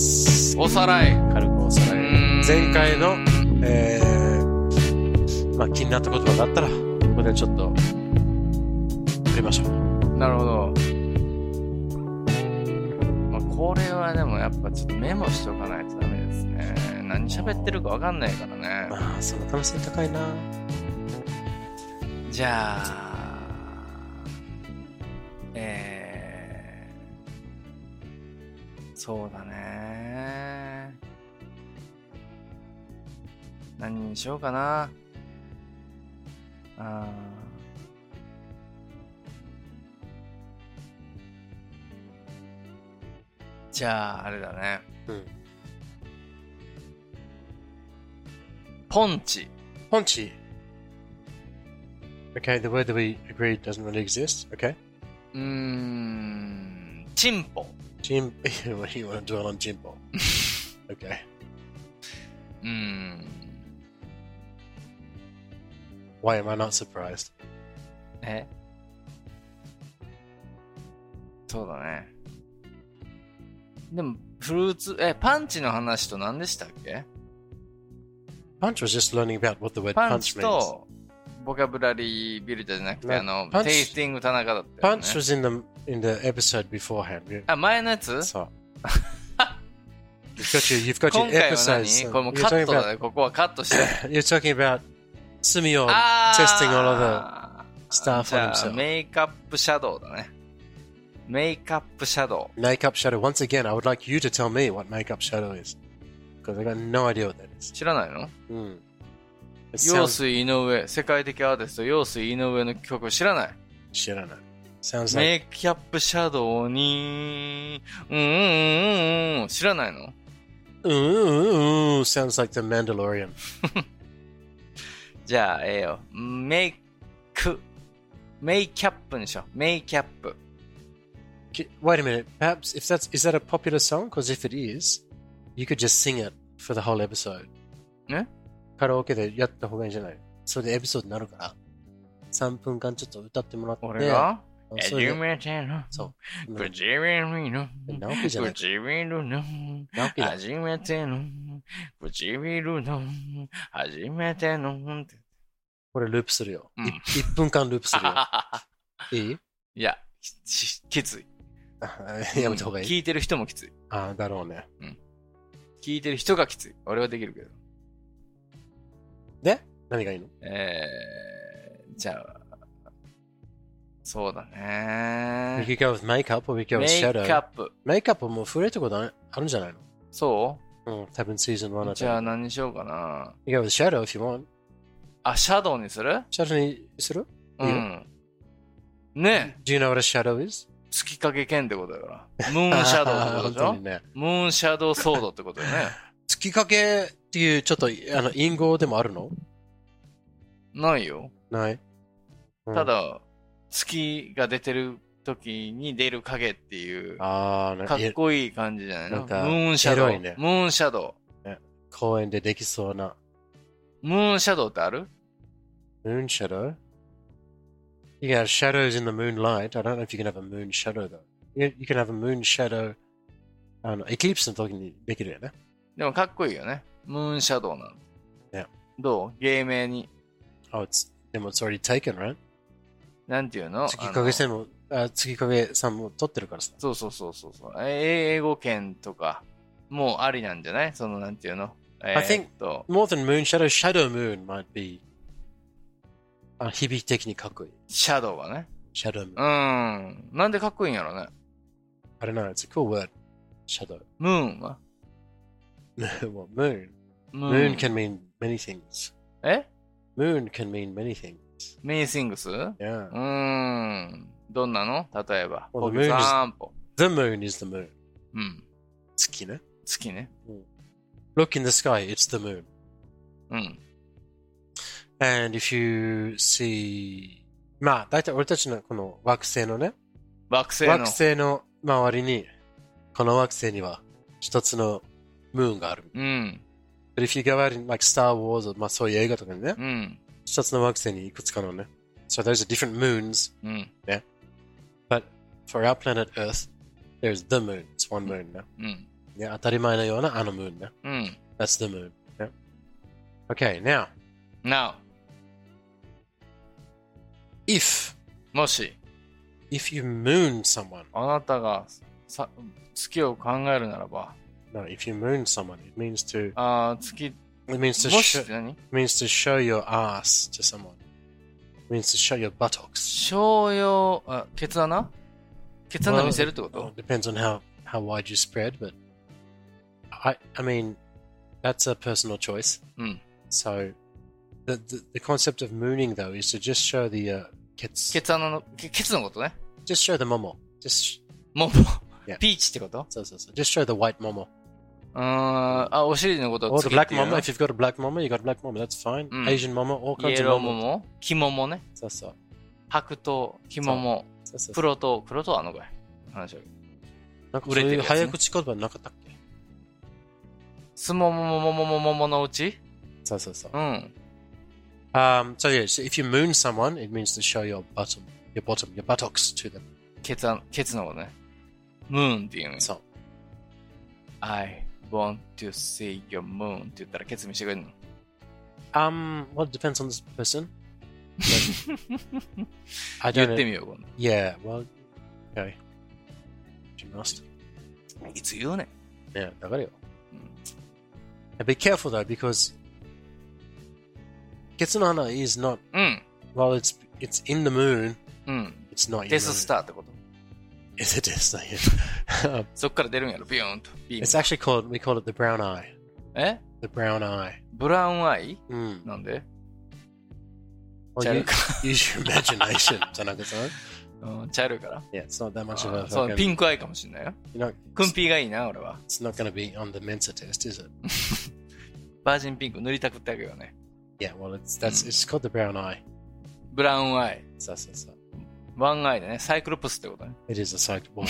おさらい。 軽くおさらい。前回の、気になったことがあったら、ここでちょっと、触れましょう。 なるほど。これはでもやっぱちょっとメモしておかないとダメですね。何喋ってるかわかんないからね。 その可能性高いな。 じゃあ、そうだね。何にしようかな。じゃあ、あれだね。ポンチ。 ポンチ。Okay, the word that we agreed doesn't really exist. Okay. チンポ。 You want to dwell on Jimbo. Okay. Why am I not surprised? そうだね。でも、フルーツ、パンチの話と何でしたっけ？ Punch was just learning about what the word パン punch チ means. と、ボキャブラリービルダーじゃなくて、 punch- テイスティング田中だったよね。 Punch was in the episode beforehand. 前のやつ？ そう。You've got 今 your 回は episodes. 何？これもうカットだね。ここはカットして。 You're talking about Sumio testing all of the stuff じ on ゃあ、 himself. メイクアップシャドウだね。メイクアップシャドウ。 Makeup shadow. Once again, I would like you to tell me what makeup shadow is. Because I got no idea what that is. 知らないの？ It 陽 sounds... 水井上、世界的アーティスト、陽水井上の曲知らない？ 知らない。Sounds メ like... イクアップシャドウに、知らないの？ Sounds like the Mandalorian. じゃあ、メイキャップにしよう。メイキャップ。 Wait a minute. Perhaps is that a popular song? Because if it is, you could just sing it for the whole episode. ね？ カラオケでやった方がいいんじゃない？それでエピソードになるから。3分間ちょっと歌ってもらって。 俺が？ それで初めてのそう。 唇の直樹じゃない。 唇の直樹だ。 初めての唇の初めてのこれループするよ。1分間ループするよ。いい？ いや、きつい。 やめた方がいい。 聞いてる人もきつい。 だろうね。 聞いてる人がきつい。俺はできるけど。 で何がいいの？ じゃあ、そうだね。 We could go with makeup or we could go with メイ shadow. クアップ。 メイクアップも触れたことあるんじゃないの？ そ多分シーズン1だう？じゃあ何にしようかな。 You go with shadow if you want. シャドウにする？ シャドウにする？ ねえ。 Do you know what a shadow is? 月影剣ってことだから。ムーンシャドウってことでしょ？ ね、 ムーンシャドウソードってことだよね。 月影っていうちょっと隠語でもあるの？ ないよ。 ない。 ただ、月が出てる時に出る影っていう、かっこいい感じじゃないの？ムーンシャドウ。 ね、 ムーンシャドウ、 ね。公園でできそうな。 ムーンシャドウってある？ Moon shadow? You can have shadows in the moonlight. I don't know if you can have a moon shadow though. You can have a moon shadow. エクリプスの時にできるよね。 でもかっこいいよね。ムーンシャドウなの。 ね。 どう？芸名に。 でも it's already taken, right? なんていうの？ 月影さんも撮ってるからさ。 そう。英語圏とかもうありなんじゃない？そのなんていうの ？I think more than moon shadow, shadow moon might be 響き的にかっこいい。 シャドウはね。 shadow moon。 なんでかっこいいんやろね。 I don't know, it's a cool word. shadow. ムーンは well, moon can mean many things. Moon can mean many things. Many things? Yeah. どんなの？例えば。 Well, the moon is the moon. 月ね。 月ね。 Look in the sky, it's the moon. And if you see... だいたい俺たちのこの惑星のね。惑星の周りに、この惑星には一つのムーンがある。But if you go out in like Star Wars or そういう映画とかにね、一つの惑星にいくつかのね。So those are different moons. Yeah. But for our planet Earth, there's the moon. It's one moon now. ね、当たり前のようなあの moon ね。 うん。 That's the moon. Yeah. Okay, now. If もし If you moon someone. あなたが月を考えるならば。 No, if you moon someone, it means to. 月。 It means to もしって何？ It means to show your ass to someone. It means to show your buttocks. show your ケツ穴？ケツ穴見せるってこと？ Depends on how wide you spread, but I mean that's a personal choice. So the concept of mooning though is to just show the ケツのことね。 Just show the momo. Just モモ。ピーチってこと？ そう。Just show the white momo. お尻のことをつけて。Or the black momo. If you've got a black momo, you got a black momo. That's fine. Asian momo, all kinds of momo. イエローモモ、黄モモね。 そう。白桃、黄モモ、黒桃はあのぐらい。話は。 なんかそういう早口言葉なかったっけ？ すももももももものうち？ そう。So yes, if you moon someone, it means to show your buttocks to them. ケツのことね。ムーンっていうの。 そう。 I want to see your moon って言ったらケツ見してくれるの？ Well, it depends on this person. 言ってみよう、今度。 Yeah, well, okay. You must. いつ言うねん。Yeah, だからよ。Be careful though, because ケツの穴 is not, well, it's in the moon, it's not in the moon. デススターってこと？ Is it Death Star? そっから出るんやろ、ビヨーンと。 It's actually we call it the brown eye. え？ The brown eye. ブラウンアイ？なんで？ Well, use your imagination, じゃなくて？ 茶色いから？ Yeah, it's not that much of a... そう、ピンクアイかもしれないよ。クンピーがいいな、俺は。 It's not gonna be on the Mensa test, is it? バージンピンク塗りたくってあげようね。 Yeah, well, it's called the brown eye. ブラウンアイ。 そう。 ワンアイでね、サイクロプスってことね。 It is a cycle.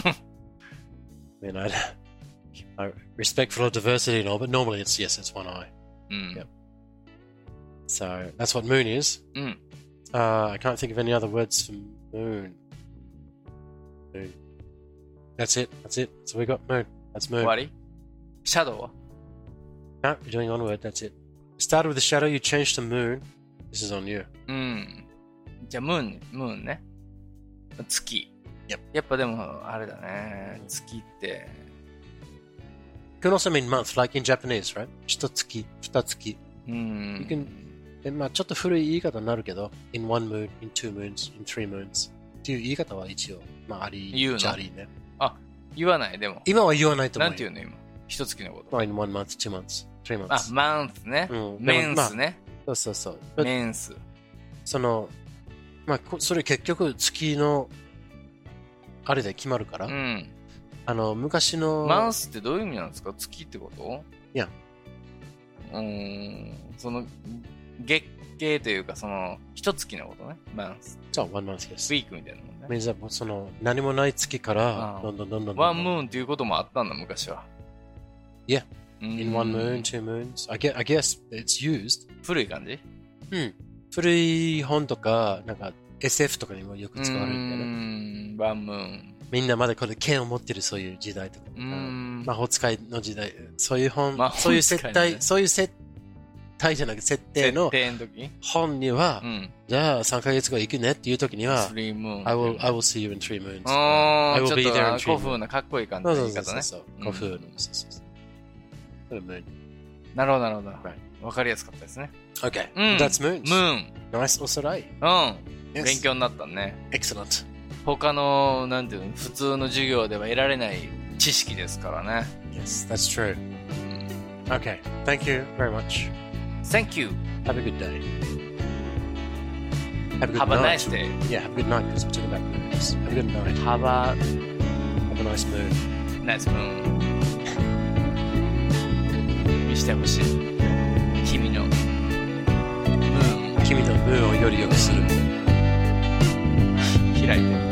I mean, I respectful of diversity and all, but normally it's one eye. Yep. So that's what moon is. I can't think of any other words for moon. That's it. So we got moon. That's moon. 終わり？シャドウは？ No, we're doing one word. That's it. Started with the shadow, you changed to moon. This is on you. じゃあムーンね。月。 Yep. やっぱでもあれだね。月って。 It can also mean month, like in Japanese, right? 一月、二月。You can, まあちょっと古い言い方になるけど、in one moon, in two moons, in three moons っていう言い方は一応、まああり、じゃありね。 あ、言わないでも。 今は言わないと思う。 なんて言うの今。一月のこと。 in one month, two months, three months. あ、マンスね。メンスね。 そう。 メンス。 まあそれ結局月のあれで決まるから。昔のマンスってどういう意味なんですか？月ってこと？ いや。 その月経というか一月のことね。マンス。 そう、one month yes。 ウィークみたいなもんね。 何もない月からどんどん。 ワンムーンっていうこともあったんだ昔は。 Yeah. In one moon, two moons. I guess it's used. 古い感じ？ 古い本とかなんか SF とかにもよく使われるんだよね。 ワンムーン。 みんなまだこれ剣を持ってるそういう時代とか、魔法使いの時代、そういう本、そういう設定じゃなくて設定の本には、じゃあ3ヶ月後行くねっていう時には、I will see you in 3 moons. I will be there in 3 moons. 古風なかっこいい感じの言い方ね。 そう。古風の。 なるほど。わかりやすかったですね。 Okay. That's moons. Moon. Nice おさらい。 勉強になったね。 Excellent. 他の、なんていうの、普通の授業では得られない知識ですからね。 Yes, that's true. Okay. Thank you very much. Thank you. Have a good day. Have a nice day. Yeah, have a good night because we're talking about moons. Have a good night. Have a nice moon. Nice moon. 見してほしい。君のムーン。 君のムーンをより良くする。 開いて。